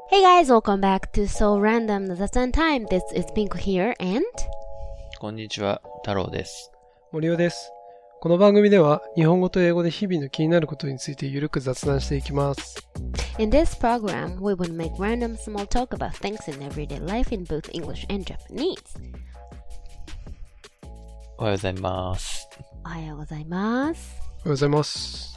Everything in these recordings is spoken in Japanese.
Hey guys, welcome back to So Random の雑談 Time. This is Pink here and こんにちは、太郎です。 森尾です。この番組では日本語と英語で日々の気になることについてゆるく雑談していきます。 In this program, we will make random small talk about things in everyday life in both English and Japanese. おはようございます。 おはようございます。 おはようございます。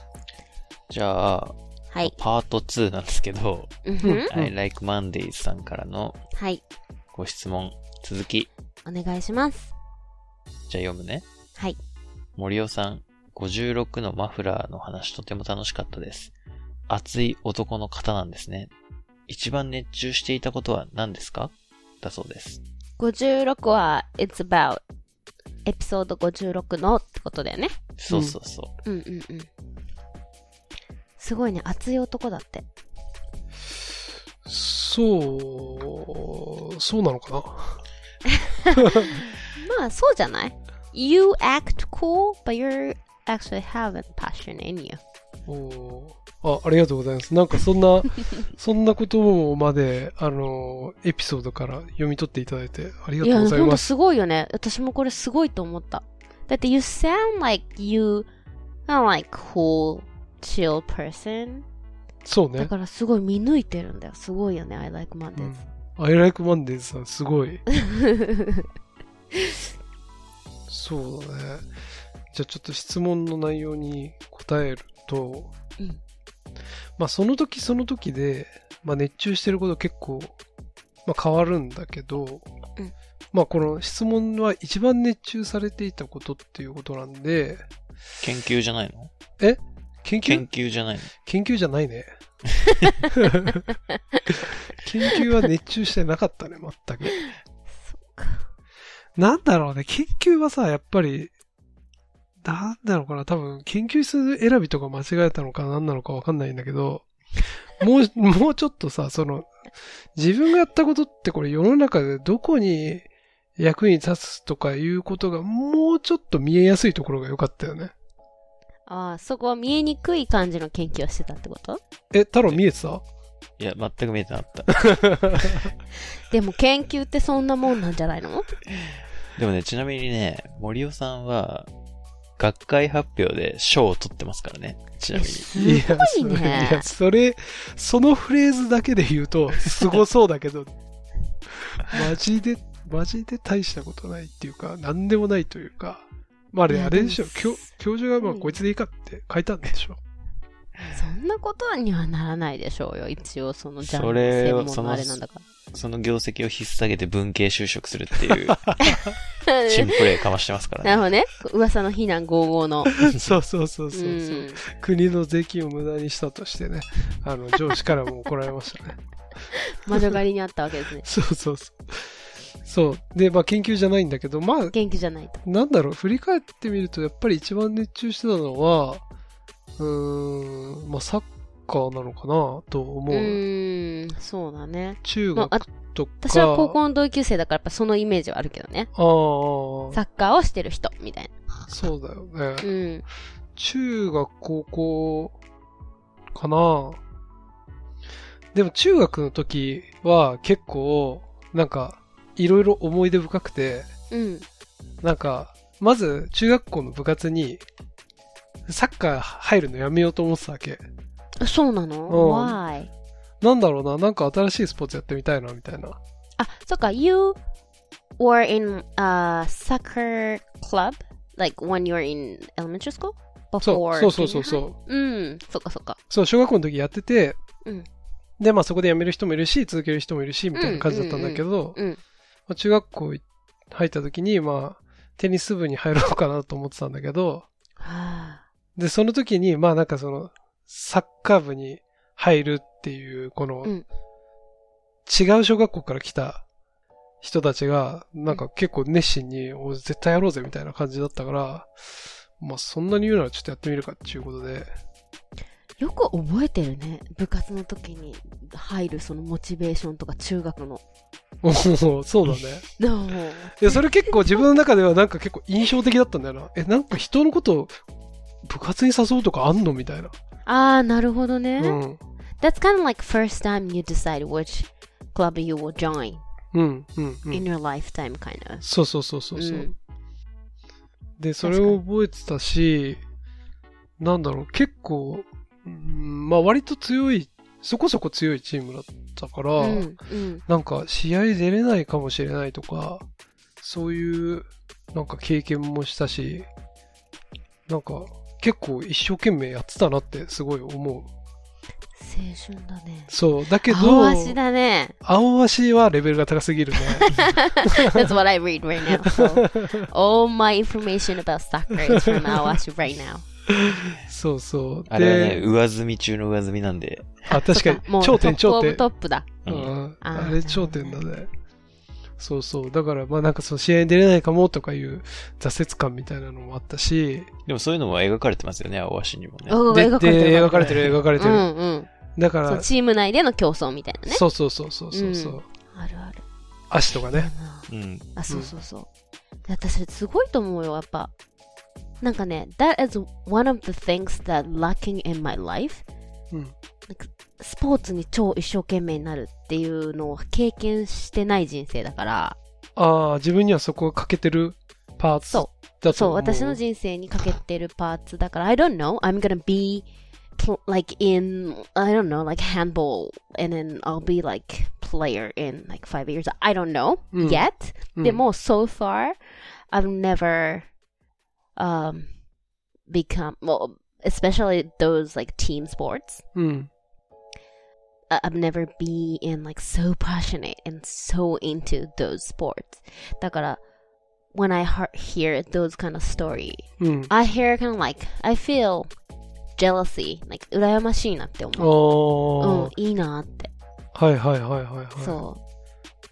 じゃあ、 はい。 パート2なんですけど、 Mm-hmm. I like Mondays さんからのはい。 ご質問、続き。 お願いします。 じゃあ読むね。 はい。 森尾さん、56のマフラーの話とても楽しかったです。熱い男の方なんですね。一番熱中していたことは何ですか？だそうです。 56は It's about エピソード56のってことだよね。 そうそうそう。 うんうんうん。すごいね、熱い男だって。 そうなのかなまあ、そうじゃない？ You act cool, but you actually have a passion in you. ありがとうございます。なんかそんなことまで、エピソードから読み取っていただいてありがとうございます。 いや、ほんとすごいよね。私もこれすごいと思った。だって、you sound like you are like cool, chill person. そうね。 だからすごい見抜いてるんだよ。すごいよね。I like Mondays. I like Mondays さん、すごい。そうだね。じゃあちょっと質問の内容に答えると、まあその時その時で、まあ熱中してること結構、まあ変わるんだけど、まあこの質問は一番熱中されていたことっていうことなんで、 研究じゃないの？ 研究じゃないの？ 研究じゃないね。研究は熱中してなかったね、全く。 そうか。 なんだろうね、研究はさ、やっぱり、なんだろうかな、多分、研究室選びとか間違えたのか何なのかわかんないんだけど、もうちょっとさ、自分がやったことってこれ世の中でどこに役に立つとかいうことがもうちょっと見えやすいところが良かったよね。 ああ、そこは見えにくい感じの研究をしてたってこと？ 太郎見えてた？ いや、全く見えてなかった。 でも研究ってそんなもんなんじゃないの？ でもね、ちなみにね、森尾さんは、学会発表で賞を取ってますからね。ちなみに。 すごいね。 いや、そのフレーズだけで言うと、すごそうだけど、マジで大したことないっていうか、なんでもないというか、まああれでしょ、教授がまあこいつでいいかって書いたんでしょ。 そんなことにはならないでしょうよ。一応そのジャンルの専門のあれなんだから。 その業績を引っ提げて文系就職するっていう新プレイかましてますからね。 なるほどね。噂の非難合々の。 そう。国の税金を無駄にしたとしてね、上司からも怒られましたね。 魔女狩りにあったわけですね。 そう。で、まあ研究じゃないんだけど、まあ、 元気じゃないと。 なんだろう、振り返ってみると、やっぱり一番熱中してたのは、まあサッカーなのかなと思う。 そうだね。 中学とか。 私は高校の同級生だからやっぱそのイメージはあるけどね。サッカーをしてる人みたいな。 そうだよね。中学、高校かな。でも中学の時は結構、なんか、いろいろ思い出深くて、なんか、まず中学校の部活にサッカー入るのやめようと思ってたわけ。 そうなの？ Why? なんだろうな、なんか新しいスポーツやってみたいな、みたいな。 あ、そっか、You were in a soccer club? Like when you were in elementary school? Before? そう。 そっか。 そう、小学校の時やってて、で、まあそこで辞める人もいるし、続ける人もいるし、みたいな感じだったんだけど、中学校入った時に、まあ、テニス部に入ろうかなと思ってたんだけど、で、その時に、まあなんかサッカー部に入るっていう、この、違う小学校から来た人たちが、なんか結構熱心に、絶対やろうぜみたいな感じだったから、まあそんなに言うならちょっとやってみるかっていうことで。 よく覚えてるね。部活の時に入るそのモチベーションとか中学の。 そうだね。いや、それ結構自分の中ではなんか結構印象的だったんだよな。なんか人のことを部活に誘うとかあんのみたいな。 あー、なるほどね。 that's kind of like first time you decide which club you will join in your lifetime, kind of. そうそうそうそう。で、それを覚えてたし、なんだろう、結構、まあ割と強い、そこそこ強いチームだったから、なんか試合出れないかもしれないとか、そういうなんか経験もしたし、なんか結構一生懸命やってたなってすごい思う。 青春だね。 そう。だけど、 青足だね。 青足はレベルが高すぎるね。 That's what I read right now. So, all my information about soccer is from 青足 right now. そうそう。 あれはね、上積み中の上積みなんで。 あ、確かに。頂点。 トップだ。 あれ頂点だね。そうそう。だから、まあなんかその試合に出れないかもとかいう挫折感みたいなのもあったし。 でもそういうのも描かれてますよね、青足にもね。 描かれてる。だから、 チーム内での競争みたいなね。 そう。 あるある。 足とかね。 あ、そう。私、すごいと思うよ、やっぱ。なんかね、that is one of the things that lacking in my life. スポーツに超一生懸命になるっていうのを経験してない人生だから。 ああ、自分にはそこが欠けてるパーツだと思う。 そう、私の人生に欠けてるパーツだから、I don't know, I'm gonna be like in, I don't know, like handball, and then I'll be like player in like 5 years. I don't know yet. でも、so far, I've never become, well, especially those like team sports. I've never been like so passionate and so into those sports. だから、when I hear those kind of story, I hear kind of like, I feel jealousy, like 羨ましいなって思う。いいなって。 はい。 そう。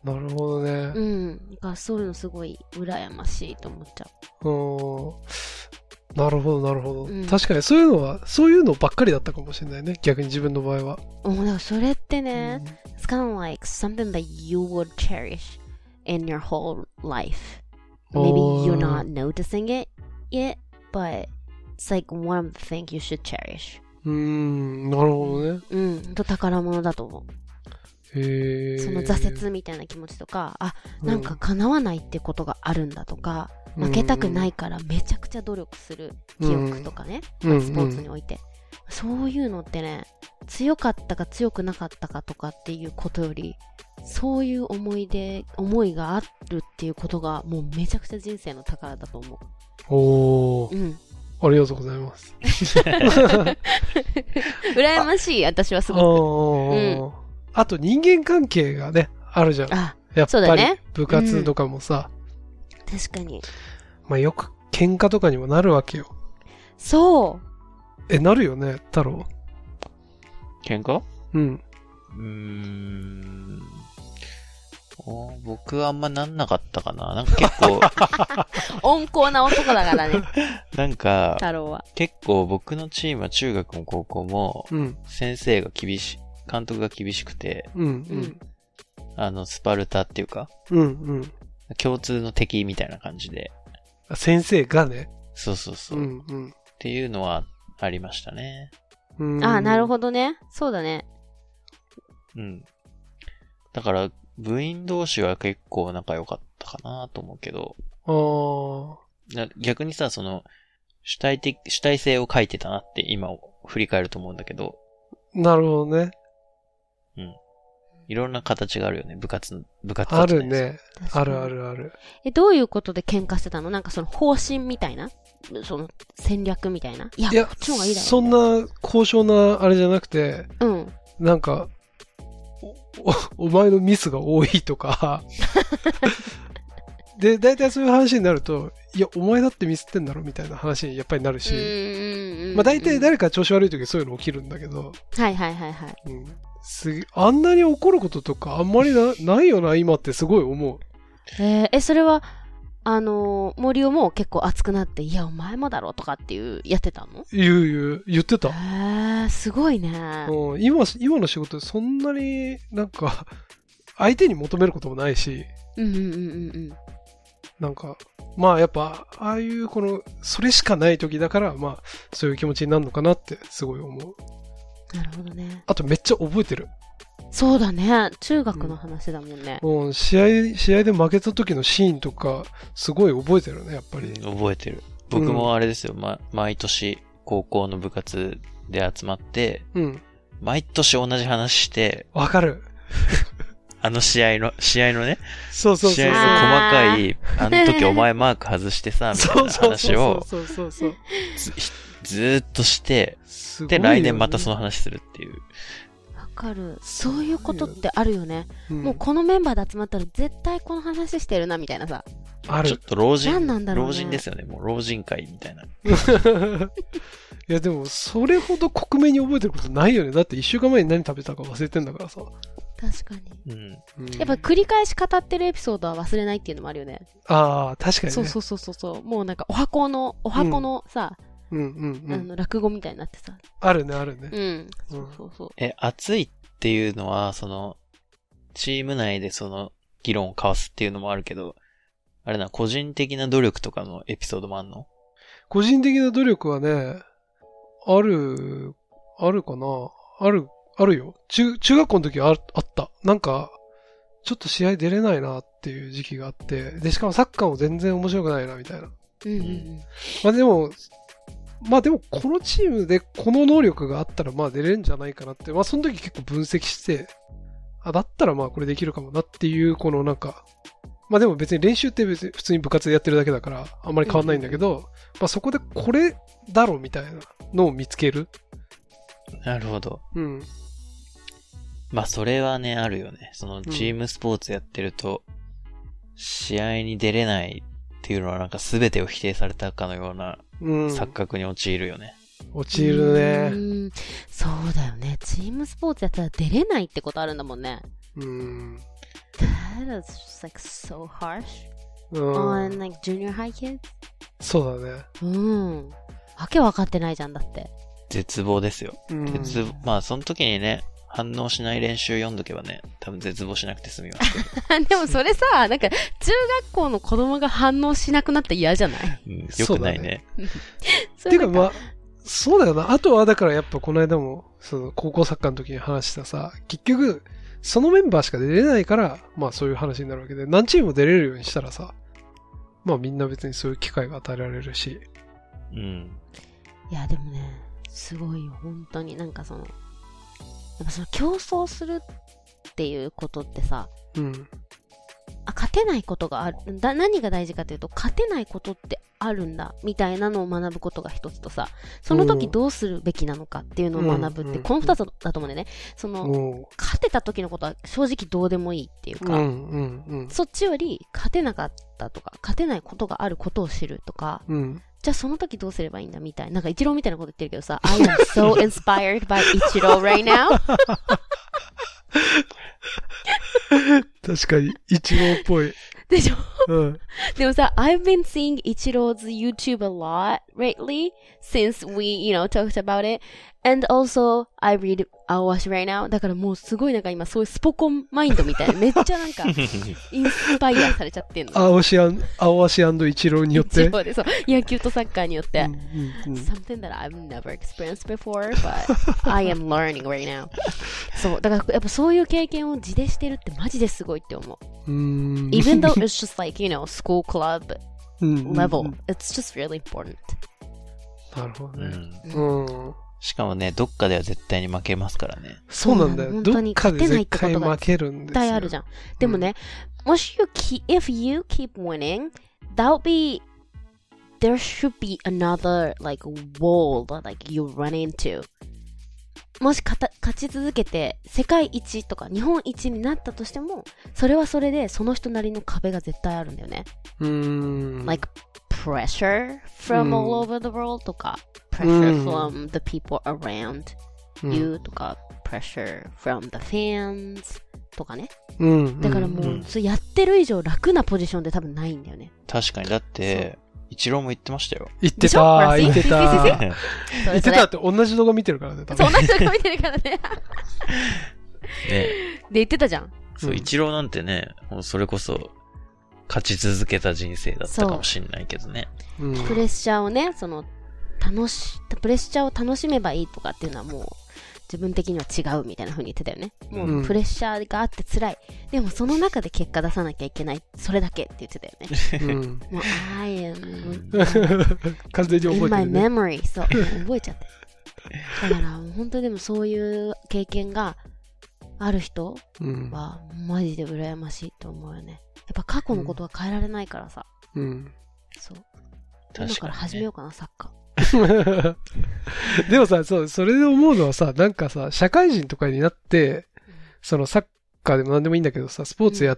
なるほどね。 そういうのすごい羨ましいと思っちゃう。なるほど。確かにそういうのばっかりだったかもしれないね。逆に自分の場合は。 だからそれってね、it's kind of like something that you would cherish in your whole life. Maybe you're not noticing it yet, but it's like one of the things you should cherish. なるほどね。 宝物だと思う。その挫折みたいな気持ちとか、なんか叶わないってことがあるんだとか、負けたくないからめちゃくちゃ努力する記憶とかね、スポーツにおいて。そういうのってね、強かったか強くなかったかとかっていうことより、そういう思いがあるっていうことがもうめちゃくちゃ人生の宝だと思う。 ありがとうございます。 羨ましい、私はすごく。 あと人間関係がね、あるじゃん。やっぱり部活とかもさ。 確かに。 まあよく喧嘩とかにもなるわけよ。 そう。 なるよね、太郎。 喧嘩？僕はあんまなんなかったかな。なんか結構温厚な男だからね。 なんか太郎は結構僕のチームは中学も高校も先生が監督が厳しくて、スパルタっていうか、共通の敵みたいな感じで。 先生がね。 そう。っていうのはありましたね。 なるほどね。そうだね。 だから部員同士は結構仲良かったかなと思うけど。逆にさ、その主体性を書いてたなって今振り返ると思うんだけど。 なるほどね。 いろんな形があるよね、部活あるね。ある。 どういうことで喧嘩してたの？なんかその方針みたいな？その戦略みたいな？いや、こっちの方がいいだろう。 そんな高尚なあれじゃなくて、なんか、お前のミスが多いとか、で、大体そういう話になると、いや、お前だってミスってんだろみたいな話にやっぱりなるし、まあ大体誰か調子悪い時そういうの起きるんだけど、 はい。 あんなに怒ることとかあんまりないよな、今ってすごい思う。 それは、森尾も結構熱くなって、いや、お前もだろとかってやってたの？ 言ってた。 すごいね。 今の仕事でそんなになんか、相手に求めることもないし、なんか、まあやっぱ、ああいうそれしかない時だから、まあ、そういう気持ちになるのかなってすごい思う。 なるほどね。 あとめっちゃ覚えてる。 そうだね。中学の話だもんね。 試合で負けた時のシーンとか、すごい覚えてるね、やっぱり。 覚えてる。僕もあれですよ、毎年、高校の部活で集まって、毎年同じ話して、 わかる。 試合のね、 そう。 試合の細かい、あの時お前マーク外してさ、みたいな話を、ずーっとして、で、来年またその話するっていう。 わかる。そういうことってあるよね。もうこのメンバーで集まったら絶対この話してるな、みたいなさ。 ある。 ちょっと老人、 何なんだろうね、 老人ですよね。もう老人会みたいな。 いやでも、それほど克明に覚えてることないよね。だって1週間前に何食べたか忘れてんだからさ。 確かに。やっぱ繰り返し語ってるエピソードは忘れないっていうのもあるよね。 ああ、確かにね。 そう。もうなんかお箱のさ、落語みたいになってさ。 あるね。 そう。 熱いっていうのは、チーム内で議論を交わすっていうのもあるけど、あれな、個人的な努力とかのエピソードもあんの？ 個人的な努力はね、あるかな？あるよ。中学校の時はあった。なんか、ちょっと試合出れないなっていう時期があって、で、しかもサッカーも全然面白くないな、みたいな。まあでも、このチームでこの能力があったら、まあ出れるんじゃないかなって、まあその時結構分析して、だったらまあこれできるかもなっていう、このなんか、まあでも別に練習って別に普通に部活でやってるだけだから、あんまり変わんないんだけど、まあそこでこれだろみたいなのを見つける。 なるほど。まあそれはね、あるよね。チームスポーツやってると、試合に出れないっていうのはなんか全てを否定されたかのような錯覚に陥るよね。 陥るね。 そうだよね。チームスポーツやったら出れないってことあるんだもんね。That is just like so harsh on like junior high kids. そうだね。 わけ分かってないじゃんだって。 絶望ですよ。まあその時にね、反応しない練習読んどけばね、多分絶望しなくて済みますけど。 でもそれさ、なんか中学校の子供が反応しなくなったら嫌じゃない？ よくないね。 てかまあ、そうだよな。あとはだからやっぱこの間も、高校サッカーの時に話したさ、結局、そのメンバーしか出れないから、まあそういう話になるわけで、何チームも出れるようにしたらさ、まあみんな別にそういう機会が与えられるし。 いやでもね、すごいよ、本当に。なんかやっぱ競争するっていうことってさ、勝てないことがある。何が大事かというと、勝てないことってあるんだ、みたいなのを学ぶことが一つとさ、その時どうするべきなのかっていうのを学ぶって、この二つだと思うんだよね。勝てた時のことは正直どうでもいいっていうか、そっちより勝てなかったとか、勝てないことがあることを知るとか、じゃあその時どうすればいいんだみたいな。なんかイチローみたいなこと言ってるけどさ、I am so inspired by イチロー right now. 確かに、イチローっぽい。 でしょ、でもさ、I've been seeing イチローズ YouTube a lot lately since we, talked about it. And also, I read Aowashi right now. だからもうすごいなんか今そういうスポコンマインドみたいな、めっちゃなんか、インスパイアされちゃってんの。 アオワシ&イチローによって。 そうで、そう。野球とサッカーによって。Something that I've never experienced before, but I am learning right now. そう。だからやっぱそういう経験を自でしてるってマジですごいって思う。Even though it's just like, school club level, it's just really important. なるほどね。 しかもね、どっかでは絶対に負けますからね。 そうなんだよ。どっかで絶対負けるんですよ。絶対あるじゃん。でもね、if you keep winning, there should be another like wall that like you run into. もし勝ち続けて世界一とか日本一になったとしても、それはそれでその人なりの壁が絶対あるんだよね。like pressure from all over the world とか、pressure from the people around you とか、pressure from the fans とかね。だからもう、やってる以上楽なポジションで多分ないんだよね。 確かに。だって、イチローも言ってましたよ。 言ってた言ってたって同じ動画見てるからね。 そう、同じ動画見てるからね。ね。で、言ってたじゃん。 そう、イチローなんてね、もうそれこそ、勝ち続けた人生だったかもしれないけどね。 プレッシャーをね、プレッシャーを楽しめばいいとかっていうのはもう、 自分的には違うみたいな風に言ってたよね。もうプレッシャーがあって辛い。でもその中で結果出さなきゃいけない。それだけって言ってたよね。もう、I am 完全に覚えてる、ね。 in my memory. そう。覚えちゃって。だから、本当にでもそういう経験がある人は、マジで羨ましいと思うよね。やっぱ過去のことは変えられないからさ。そう。今から始めようかな、サッカー。 でもさ、それで思うのはさ、なんかさ、社会人とかになって、そのサッカーでも何でもいいんだけどさ、スポーツやって、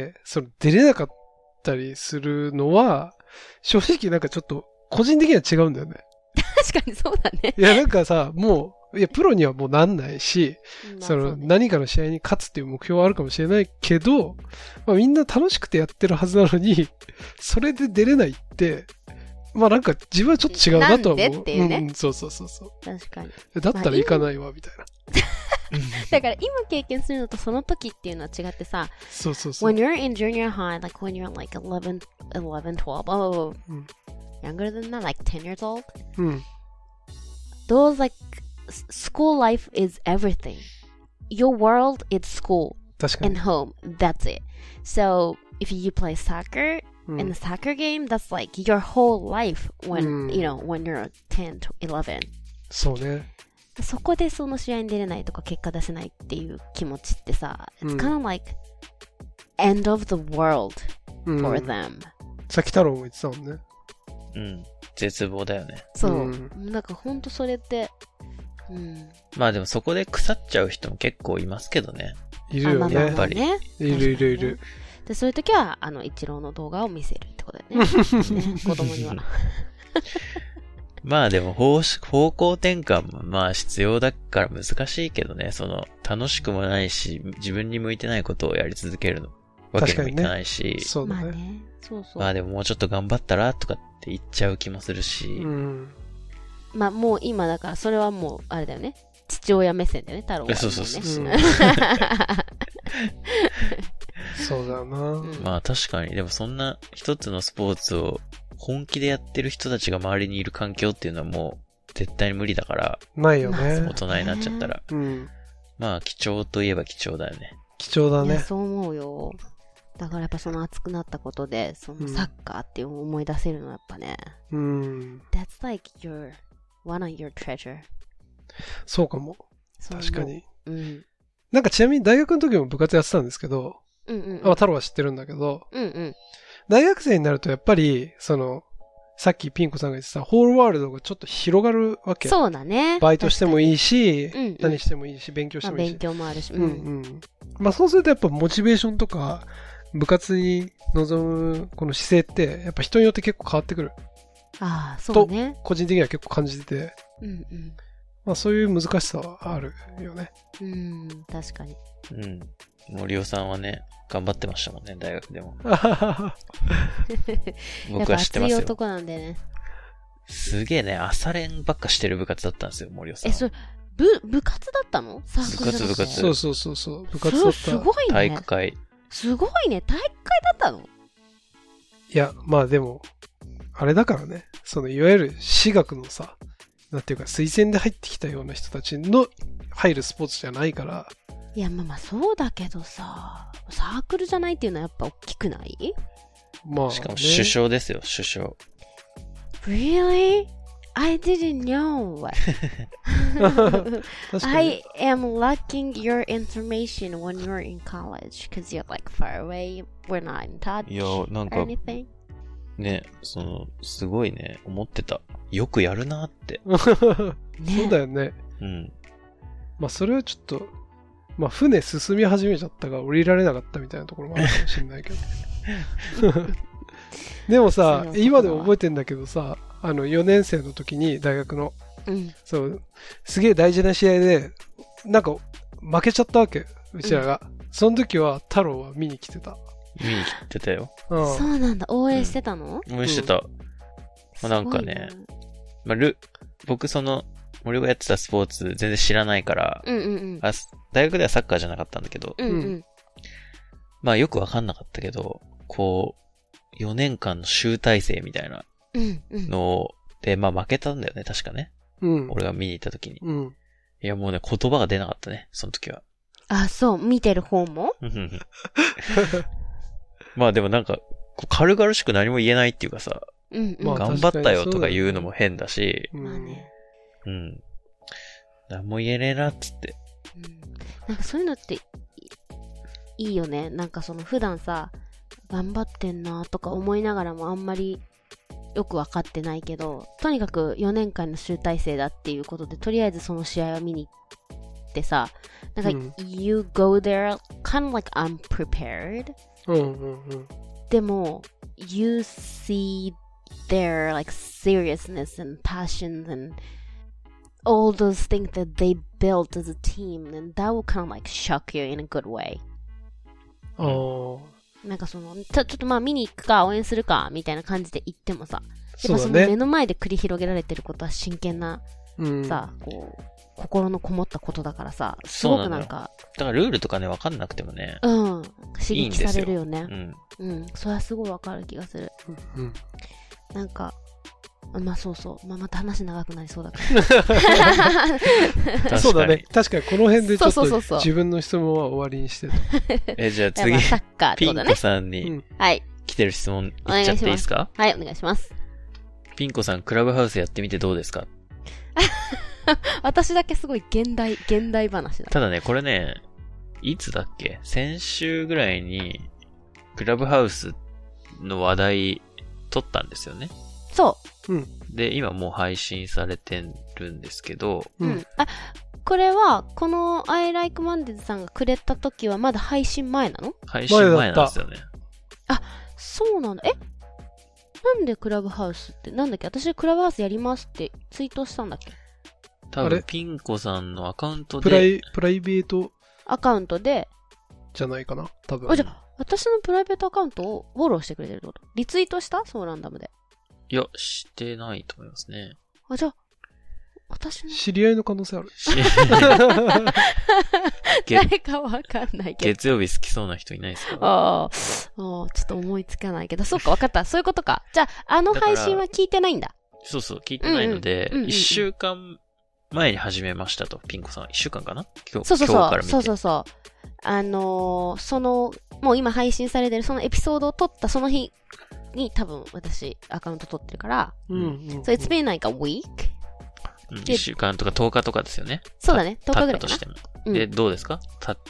出れなかったりするのは、正直なんかちょっと、個人的には違うんだよね。 確かにそうだね。 いや、なんかさ、もう、いや、プロにはもうなんないし、何かの試合に勝つっていう目標はあるかもしれないけど、まあみんな楽しくてやってるはずなのに、それで出れないって、まあなんか自分はちょっと違うなとは思う。 なんでっていうね。 そう。 確かに。 だったら行かないわ、みたいな。 だから今経験するのとその時っていうのは違ってさ、 そう。 When you're in junior high, like when you're like 11, 12, younger than that, like 10 years old, those like school life is everything. Your world is school and home. That's it. So if you play soccer,in the soccer game, that's like your whole life when, when you're 10 to 11. そうね。 そこでその試合に出れないとか結果出せないっていう気持ちってさ、it's kind of like end of the world for them. さっき太郎も言ってたもんね。 絶望だよね。 そう。なんかほんとそれって、 まあでもそこで腐っちゃう人も結構いますけどね。 いるよね。 やっぱり。 いる。 で、そういう時は、イチローの動画を見せるってことだよね。子供には。 まあでも方向転換もまあ必要だから難しいけどね、楽しくもないし、自分に向いてないことをやり続けるのわけにもいかないし、 そうだね。 まあね。そう。 まあでももうちょっと頑張ったらとかって言っちゃう気もするし、 まあもう今だからそれはもうあれだよね。父親目線だよね、太郎は、ね。 そう。 そうだよな。 まあ確かに、でもそんな一つのスポーツを本気でやってる人たちが周りにいる環境っていうのはもう絶対に無理だから。 ないよね。 大人になっちゃったら。まあ貴重といえば貴重だよね。 貴重だね。 そう思うよ。だからやっぱその熱くなったことで、そのサッカーっていうのを思い出せるのはやっぱね。That's like one of your treasure. そうかも。確かに。なんかちなみに大学の時も部活やってたんですけど、太郎は知ってるんだけど、大学生になるとやっぱり、さっきピン子さんが言ってた、ホールワールドがちょっと広がるわけ。 そうだね。 バイトしてもいいし、何してもいいし、勉強してもいいし。 勉強もあるし。 まあそうするとやっぱモチベーションとか、部活に臨むこの姿勢って、やっぱ人によって結構変わってくる。 ああ、そうね。 と、個人的には結構感じてて。まあそういう難しさはあるよね。 確かに。 森尾さんはね、頑張ってましたもんね、大学でも。僕は知ってますよ。 熱い男なんでね。 すげえね、朝練ばっかしてる部活だったんですよ、森尾さん。 それ、部活だったの？サークルじゃなくて。 部活。 そう。部活だった。 すごいね。 体育会。 すごいね。体育会だったの？ いや、まあでも、あれだからね。いわゆる私学のさ、なんていうか推薦で入ってきたような人たちの入るスポーツじゃないから。 いや、まあそうだけどさ、サークルじゃないっていうのはやっぱ大きくない？ まあ、ね。 しかも首相ですよ、首相。 Really? I didn't know. I am lacking your information when you're in college because you're like far away. We're not in touch. いや、なんか、 anything. ね、すごいね、思ってた。よくやるなって。 そうだよね。まあそれはちょっと、まあ船進み始めちゃったから降りられなかったみたいなところもあるかもしれないけど。でもさ、今でも覚えてんだけどさ、4年生の時に大学の、すげえ大事な試合で、なんか負けちゃったわけ、うちらが。その時は太郎は見に来てた。 見に来てたよ。 そうなんだ。応援してたの？ 応援してた。まあ、なんかね、まあ、僕森がやってたスポーツ全然知らないから、大学ではサッカーじゃなかったんだけど、まあよくわかんなかったけど、こう、4年間の集大成みたいなので、まあ負けたんだよね、確かね。俺が見に行った時に。いいやもうね、言葉が出なかったね、その時は。 あ、そう、見てる方もまあでもなんか、軽々しく何も言えないっていうかさ、 うんうん、 頑張ったよとか言うのも変だし、 まあね。 うん。何も言えねえなっつって。 うん、なんかそういうのっていいよね。なんかその普段さ、頑張ってんなとか思いながらもあんまりよく分かってないけど、とにかく4年間の集大成だっていうことで、とりあえずその試合を見に行ってさ、なんか、you go there kind of like unprepared. でも、you see their like seriousness and passion and all those things that they built as a team, and that will kind of like shock you in a good way. なんかそのちょっとまあ見に行くか応援するかみたいな感じで行ってもさ、やっぱその目の前で繰り広げられてることは真剣な、さ、こう心のこもったことだからさ、すごくなんか、 だからルールとかね分かんなくてもね、 刺激されるよね。それはすごい分かる気がする。なんかまあそうそう、また話長くなりそうだから。 そうだね。確かにこの辺でちょっと自分の質問は終わりにしてた。 じゃあ次、 サッカーってことね、 ピン子さんに来てる質問言っちゃっていいですか？ はい、お願いします。 ピン子さん、クラブハウスやってみてどうですか？ 私だけすごい現代話だ。 ただね、これね、いつだっけ？先週ぐらいに、クラブハウスの話題取ったんですよね。 そう。 で、今もう配信されてるんですけど。 あ、これは、この I Like Mondays さんがくれた時はまだ配信前なの？ 配信前なんですよね。 あ、そうなんだ。なんでクラブハウスって、なんだっけ？私クラブハウスやりますってツイートしたんだっけ？ 多分ピン子さんのアカウントで。 プライベートアカウントで。 じゃないかな多分。 じゃあ、私のプライベートアカウントをフォローしてくれてるってこと？リツイートした？そうランダムで。 いや、してないと思いますね。 じゃあ、私の。 知り合いの可能性ある。 誰かわかんないけど。 月曜日好きそうな人いないですか？ ちょっと思いつかないけど。そっか、わかった。そういうことか。じゃあ、配信は聞いてないんだ。 そうそう、聞いてないので、1週間前に始めましたと、ピン子さん。1週間かな？今日から見て。 そう。もう今配信されてるそのエピソードを撮ったその日に多分私アカウント撮ってるから。So it's been like a week? 1週間とか10日とかですよね。 そうだね。10日ぐらいかな。 経ったとしても。で、どうですか？経って。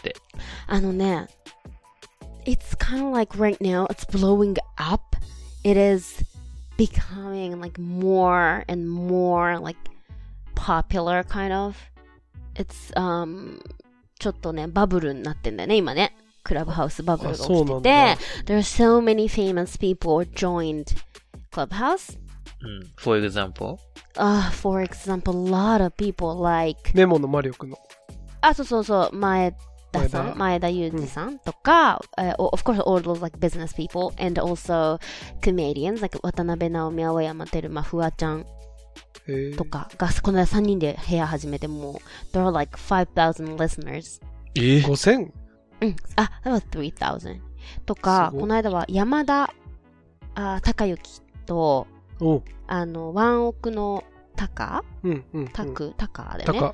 It's kind of like right now it's blowing up. It is becoming like more and more like popular kind of. It's, ちょっとね、バブルになってんだよね、今ね。クラブハウスバブルが起きてて。There are so many famous people joined Clubhouse. For example? For example, a lot of people like... ネモのマリオくんの。 そう。前田裕二さんとか、of course all those like business people and also comedians like 渡辺直美、青山テルマ、フワちゃんとかがこの間3人で部屋始めてもう there are like 5,000 listeners。 5000？ that was 3,000 とか、この間は山田孝之とワンオクのタカだよね。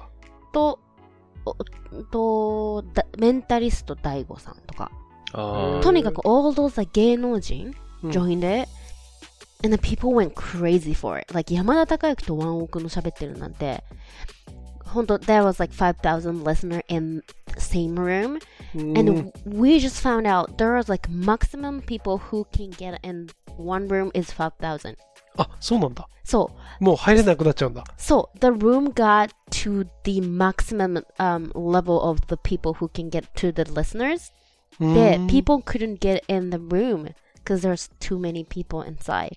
とメンタリスト大悟さんとか、とにかく all those like 芸能人 joined it and the people went crazy for it. Like 山田孝之とワンオクの喋ってるなんて本当 there was like 5,000 listeners in the same room and we just found out there was like maximum people who can get in one room is 5,000. そうなんだ。 そう。 もう入れなくなっちゃうんだ。 そう。The room got to the maximum level of the people who can get to the listeners. で、people couldn't get in the room because there's too many people inside.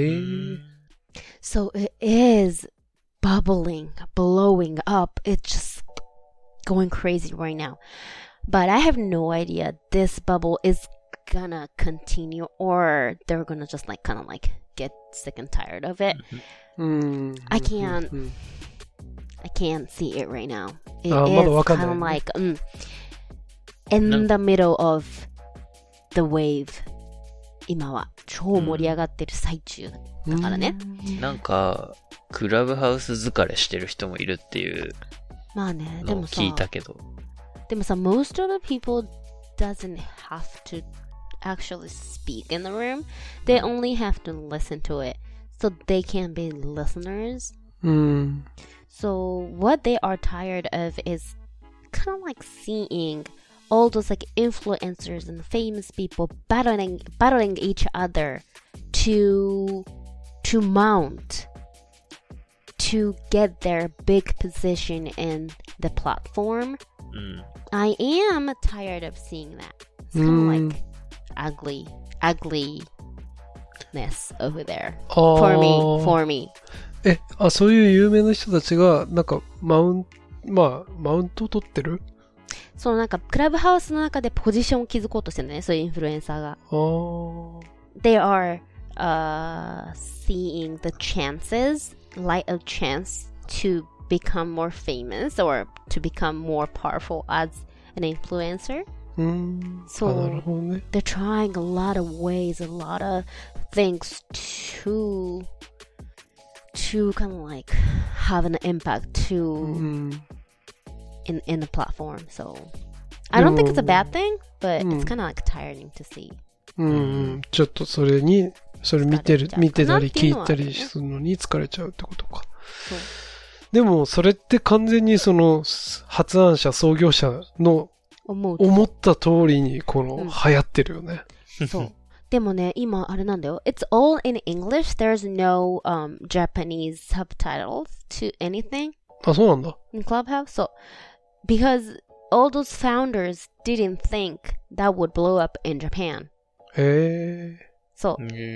So it is bubbling, blowing up. It's just going crazy right now. But I have no idea this bubble is gonna continue or they're gonna just like kind of like get sick and tired of it. I can't see it right now. It is kind of like in the middle of the wave. 今は超盛り上がってる最中だからね。 なんかクラブハウス疲れしてる人もいるっていうまあね、でもさ、 聞いたけど。 でもさ、most of the people doesn't have to actually speak in the room. They only have to listen to it. So they can be listeners. So what they are tired of is kind of like seeing all those like influencers and famous people battling each other to mount to get their big position in the platform. I am tired of seeing that. It's kind of like ugliness over there. For me. そういう有名な人たちがなんかマウントを取ってる？ そう、なんかクラブハウスの中でポジションを築こうとしてるんだね、そういうインフルエンサーが。They are seeing the chances, light of chance to become more famous or to become more powerful as an influencer. So they're trying a lot of ways, a lot of things to kind of like have an impact to in the platform. So I don't think it's a bad thing, but it's kind of like tiring to see. ちょっとそれ見てたり聞いたりするのに疲れちゃうってことか。でもそれって完全にその発案者創業者の思った通りにこの流行ってるよね。 そう。でもね、今あれなんだよ。It's all in English. There's no Japanese subtitles to anything. あ、そうなんだ。 In Clubhouse? So, because all those founders didn't think that would blow up in Japan. そう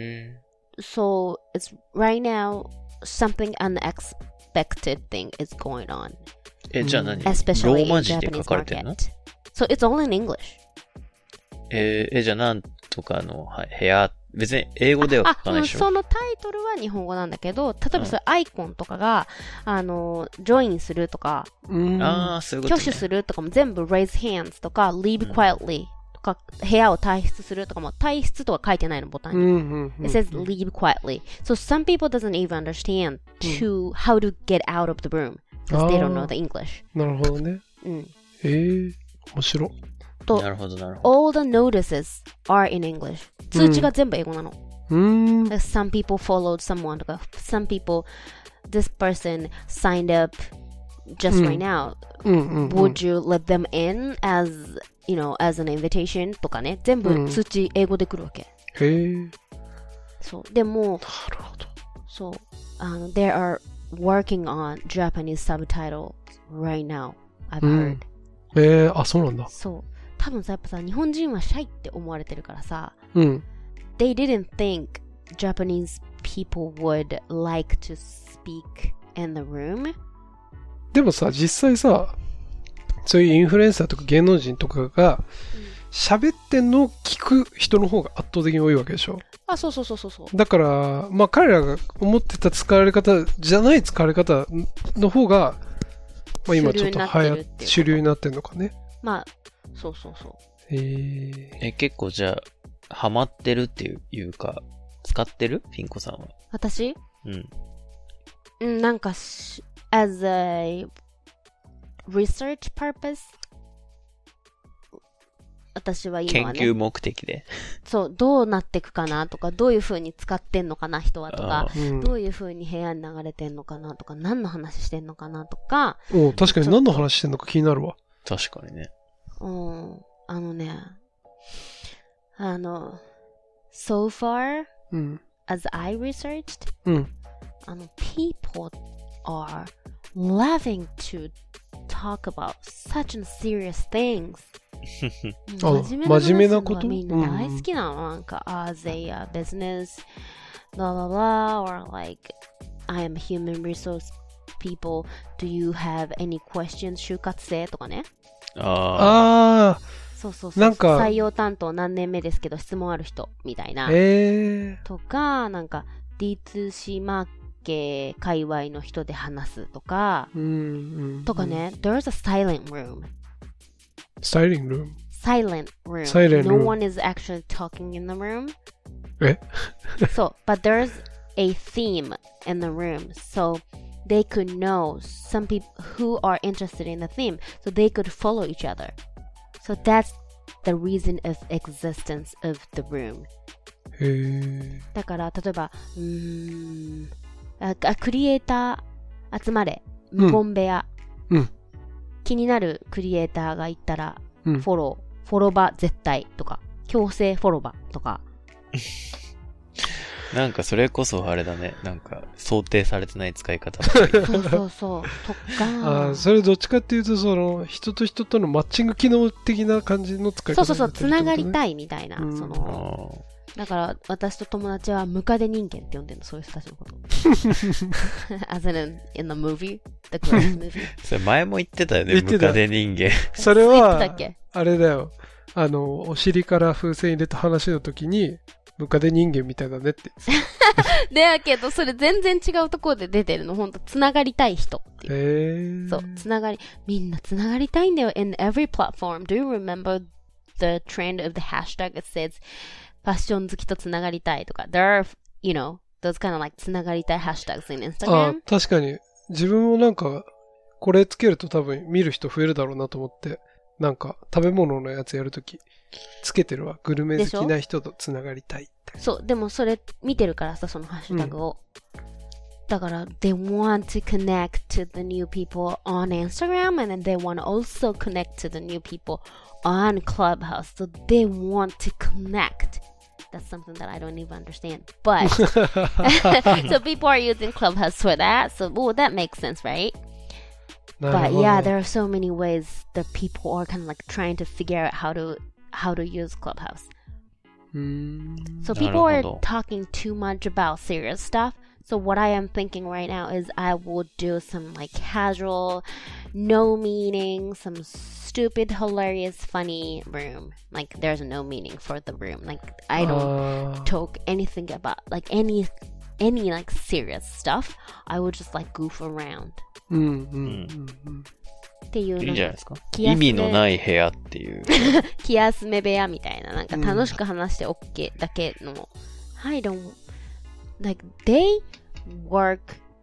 。So, it's right now something unexpected thing is going on. じゃあ何？ Especially ローマ字で書かれてるの？ So, it's all in English. じゃあなんとかの部屋、別に英語では書かないでしょ？ そのタイトルは日本語なんだけど、例えばそういうアイコンとかが、ジョインするとか、 そういうことね。 挙手するとかも全部 raise hands とか leave quietly とか、部屋を退出するとかも退出とか書いてないのボタンに。It says leave quietly. So some people doesn't even understand how to get out of the room because they don't know the English. なるほどね。面白い。 なるほど、なるほど。 All the notices are in English. 通知が全部英語なの。Like some people followed someone とか、some people, this person signed up just right now. Would you let them in as, you know, as an invitation とかね。全部通知英語で来るわけ。そう。でも、 なるほど。 そう。They are working on Japanese subtitles right now. I've heard. あ、そうなんだ。 そう。多分さ、やっぱさ、日本人はシャイって思われてるからさ、They didn't think Japanese people would like to speak in the room. でもさ、実際さ、そういうインフルエンサーとか芸能人とかが喋ってんのを聞く人の方が圧倒的に多いわけでしょ。 あ、そう。 だから、まあ彼らが思ってた使われ方じゃない使われ方の方が、まあ今ちょっと主流になってんのかね。 まあ、そう。 結構じゃあ、ハマってるっていうか、使ってる？ピンコさんは。 私？なんか、as a research purpose? 私は今はね。 研究目的で。 そう、どうなっていくかなとか、どういう風に使ってんのかな、人はとか、どういう風に部屋に流れてんのかなとか、何の話してんのかなとか。 確かに何の話してんのか気になるわ。 確かにね。 so far, as I researched, people are loving to talk about such serious things. 真面目なことみんな大好きなの。なんか、as a business, blah, blah, blah, or like, I am human resource people, do you have any questions? 就活生とかね。そうなんか採用担当何年目ですけど質問ある人みたいな、とかなんか D2C マーケ界隈の人で話すとか、とかね。There's a silent room. Silent room? Silent room. No one is actually talking in the room. So, but there's a theme in the room. So they could know some people who are interested in the theme, so they could follow each other. So that's the reason of existence of the room. へー。 だから例えばクリエイター集まれ無言部屋、 うん、 気になるクリエイターがいたら、フォロバ絶対とか強制フォロバとかなんかそれこそあれだね。なんか想定されてない使い方そうとかそれどっちかっていうとその人と人とのマッチング機能的な感じの使い方、 そうつながりたいみたいな、そのだから私と友達はムカデ人間って呼んでるの、そういう人たちのことas in the movie the Close movie それ前も言ってたよね、ムカデ人間それはあれだよ、お尻から風船入れた話の時にムカデ人間みたいだねってだけどそれ全然違うところで出てるの、ほんとつながりたい人っていう。そうつながり、みんなつながりたいんだよ in every platform. Do you remember the trend of the hashtag that says ファッション好きとつながりたいとか there are, you know, those kind of like つながりたい hashtags in Instagram. 確かに自分もなんかこれつけると多分見る人増えるだろうなと思ってなんか食べ物のやつやるときつけてるわ。グルメ好きな人とつながりたいって。 そうでもそれ見てるからさ、そのハッシュタグを、だから they want to connect to the new people on Instagram and then they want to also connect to the new people on Clubhouse, so they want to connect. That's something that I don't even understand, but so people are using Clubhouse for that, so that makes sense, right? But yeah, there are so many ways that people are kind of like trying to figure out how to use Clubhouse. So people are talking too much about serious stuff. So what I am thinking right now is I will do some like casual, no meaning, some stupid, hilarious, funny room. Like there's no meaning for the room. Like I don't talk anything about like any like serious stuff. I will just like goof around. っていういいんじゃないですか。意味のない部屋っていう気休め部屋みたいな、なんか楽しく話して OK だけの、I don't like they work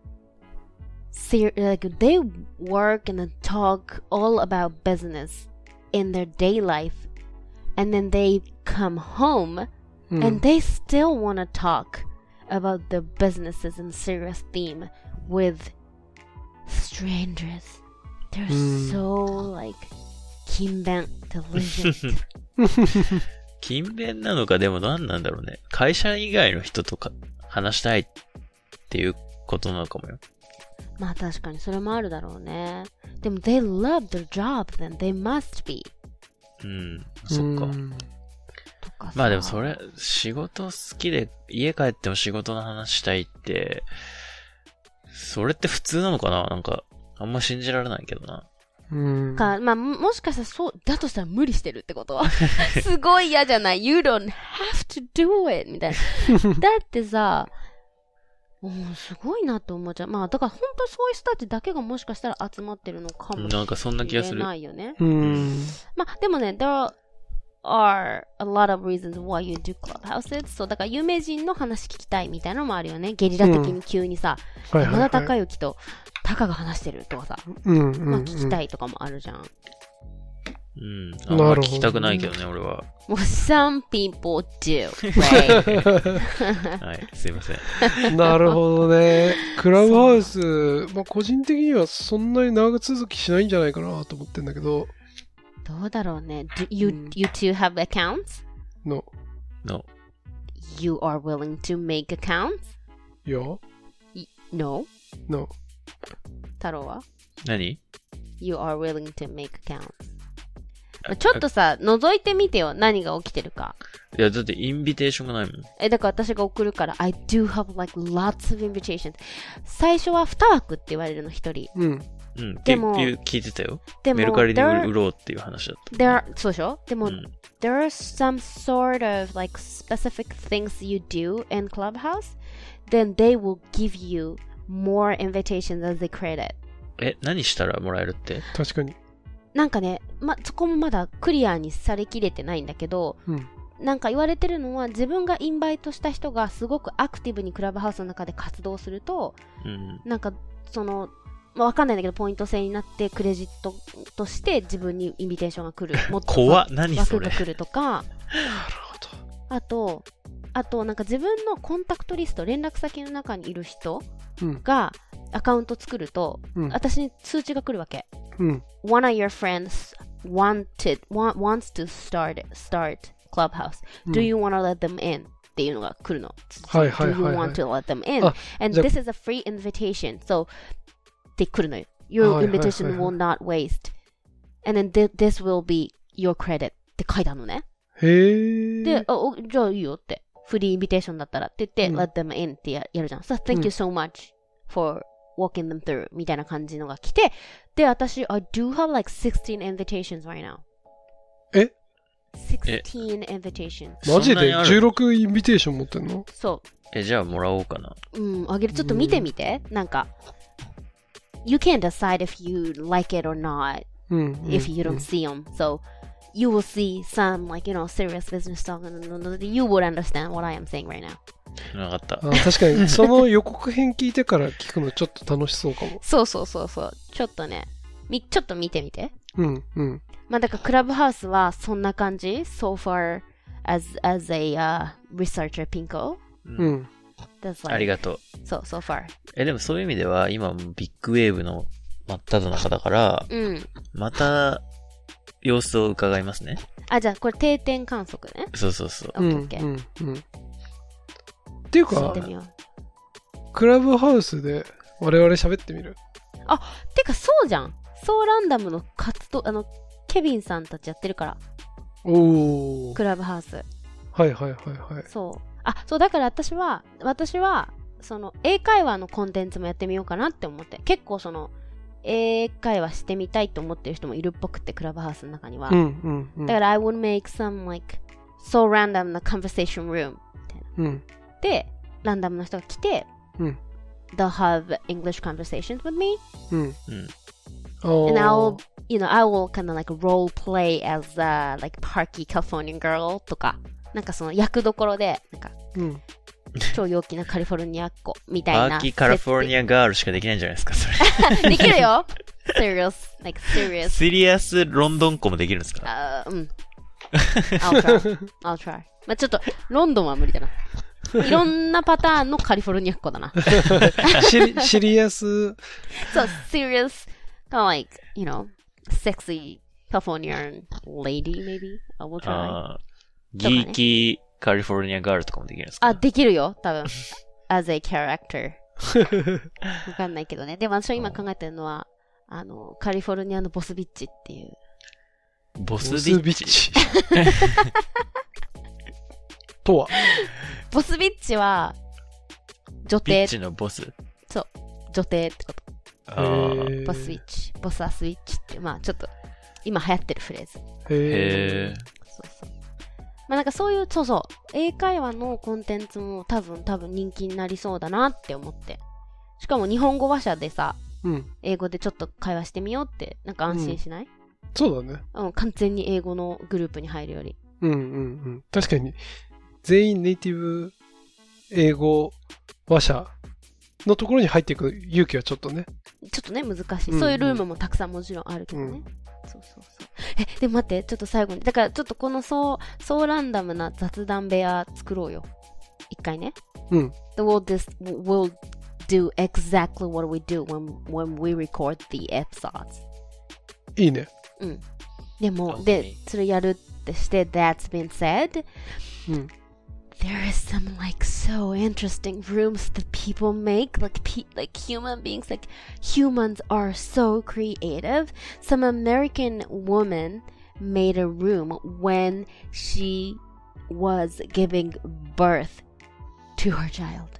like they work and talk all about business in their day life and then they come home and they still want to talk about their businesses and serious theme with strangers. They're so like 勤勉 diligent 勤勉なのか、でも何なんだろうね。会社以外の人とか話したいっていうことなのかもよ。 まあ確かにそれもあるだろうね。でも they love their job then they must be。 そっか。まあでもそれ仕事好きで家帰っても仕事の話したいってそれって普通なのかな。なんかあんま信じられないけどな。 まあもしかしたらそうだとしたら無理してるってことはすごい嫌じゃない。 You don't have to do it みたいなだってさ、すごいなと思っちゃう。まあだから本当そういう人たちだけがもしかしたら集まってるのかもしれないよね。 なんかそんな気がする。 まあでもね、there are a lot of reasons why you do clubhouses. そうだから有名人の話聞きたいみたいなのもあるよね。ゲリラ的に急にさ、山田孝之とタカが話してるとかさ、まあ聞きたいとかもあるじゃん。 あんま聞きたくないけどね、俺は。 もう some people do, right? はい、すいません。なるほどね。クラブハウス、まあ個人的にはそんなに長続きしないんじゃないかなと思ってんだけど。 どうだろうね。You two have accounts? No. You are willing to make accounts? Yeah. No. 太郎は？ 何？ You are willing to make accounts. ちょっとさ、覗いてみてよ。何が起きてるか。 いや、だってインビテーションがないもん。 だから私が送るから、I do have like lots of invitations. 最初は2枠って言われるの、1人。 でも聞いてたよ。メルカリで売ろうっていう話だった。 そうでしょ？でも、there are some sort of like specific things you do in Clubhouse, then they will give you more invitations as they create it. 何したらもらえるって？ 確かに。 なんかね、そこもまだクリアにされきれてないんだけど、なんか言われてるのは自分がインバイトした人がすごくアクティブにクラブハウスの中で活動すると、なんかわかんないんだけど、ポイント制になってクレジットとして自分にインビテーションが来る。もっと怖っ、何それ。 枠が来るとか。なるほど。あと、なんか自分のコンタクトリスト、連絡先の中にいる人がアカウント作ると、私に通知が来るわけ。One of your friends wants to start Clubhouse.Do you want to let them in? っていうのが来るの。 はいはいはい、はい。 Do you want to let them in? And this is a free invitation. So, って来るのよ。Your invitation will not waste. And then this will be your credit って書いてあるのね。 へー。 で、じゃあいいよって。フリーインビテーションだったらって言って、let them in ってやるじゃん。So, thank you so much for walking them through みたいな感じのが来て、で、私、I do have like 16 invitations right now. え ?16 invitations. マジで16インビテーション持ってんの？ そう。 じゃあもらおうかな。 あげる。ちょっと見てみて。なんか、You can't decide if you like it or not if you don't see them. So, you will see some, like, you know, serious business talk and you would understand what I am saying right now. わかった。 確かに、その予告編聞いてから聞くのちょっと楽しそうかも。 そう。ちょっとね、ちょっと見てみて。まあ、だからクラブハウスはそんな感じ ?So far as a researcher Pinko. Like, ありがとう。 そう、so far. でもそういう意味では、今ビッグウェーブの真っ只中だから、また、様子を伺いますね。 じゃあ、これ定点観測ね。 そう。 っていうか、クラブハウスで我々喋ってみる？ てかそうじゃん。そうランダムの活動、ケビンさんたちやってるから。クラブハウス。 はい。 そう。そう、だから私は、その、英会話のコンテンツもやってみようかなって思って。結構英会話してみたいと思ってる人もいるっぽくて、クラブハウスの中には。だから、I would make some, like, so random な conversation room みたいな。で、ランダムの人が来て、they'll have English conversations with me. And I will kind of like role play as a, like, Parky Californian girl とか。なんかその役どころで、なんか、超陽気なカリフォルニアっ子みたいな。 パーキーカリフォルニアガールしかできないんじゃないですか、それ。できるよ serious. シリアスロンドン子もできるんですか I'll try. まあちょっと、ロンドンは無理だな。いろんなパターンのカリフォルニアっ子だな。 シリアス。 そう、serious, kind of like, you know, sexy Californian lady, maybe. I will try. ギーキーカリフォルニアガールとかもできるんですか？ できるよ、多分。as a character. わかんないけどね。でも私は今考えてるのは、カリフォルニアのボスビッチっていう。 ボスビッチとは？ ボスビッチは、女帝。 ビッチのボス？ そう。女帝ってこと。ボスビッチ。ボスアスイッチって、まあちょっと、今流行ってるフレーズ。 へー。 そう。まあなんかそういう、英会話のコンテンツも多分人気になりそうだなって思って。しかも日本語話者でさ、英語でちょっと会話してみようって、なんか安心しない？ そうだね。 完全に英語のグループに入るより。 確かに、全員ネイティブ英語話者のところに入っていく勇気はちょっとね。 ちょっとね、難しい。そういうルームもたくさんもちろんあるけどね。そう。でも待って、ちょっと最後に。だからちょっとこのそうランダムな雑談部屋作ろうよ。一回ね。We'll do exactly what we do when we record the episodes. いいね。 でも、で、それやるってして、that's been said, there is some like so interesting rooms that people make, like human beings, like humans are so creative. Some American woman made a room when she was giving birth to her child.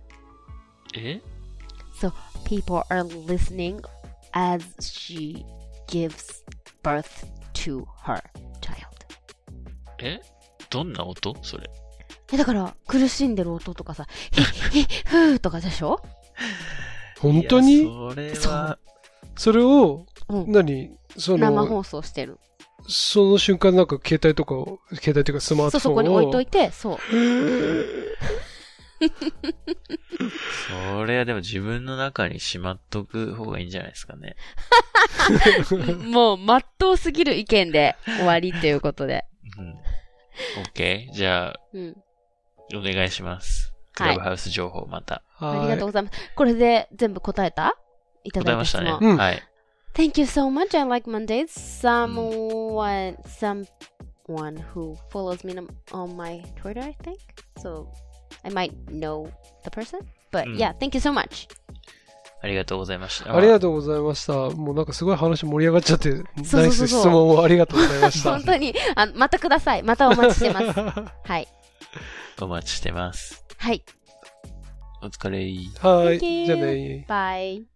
So people are listening as she gives birth to her child. どんな音それ？ だから、苦しんでる音とかさ、ふーとかでしょ？ 本当に？ それは。 それを、生放送してる。 その瞬間なんか携帯というかスマートフォンを。 そこに置いといて、そう。 それはでも自分の中にしまっとく方がいいんじゃないですかね。 もう、まっとうすぎる意見で終わりということで。 うん。OK。じゃあ、お願いします。クラブハウス情報また。 ありがとうございます。これで全部答えた？いただいた質問。 答えましたね。はい。 Thank you so much. I like Mondays. Someone who follows me on my Twitter, I think. So I might know the person. But yeah, thank you so much. ありがとうございました。 ありがとうございました。もうなんかすごい話盛り上がっちゃって、ナイス質問をありがとうございました。 本当に、またください。またお待ちしてます。はい。 お待ちしてます。 はい。 お疲れ。 はい。じゃあね。 バイ。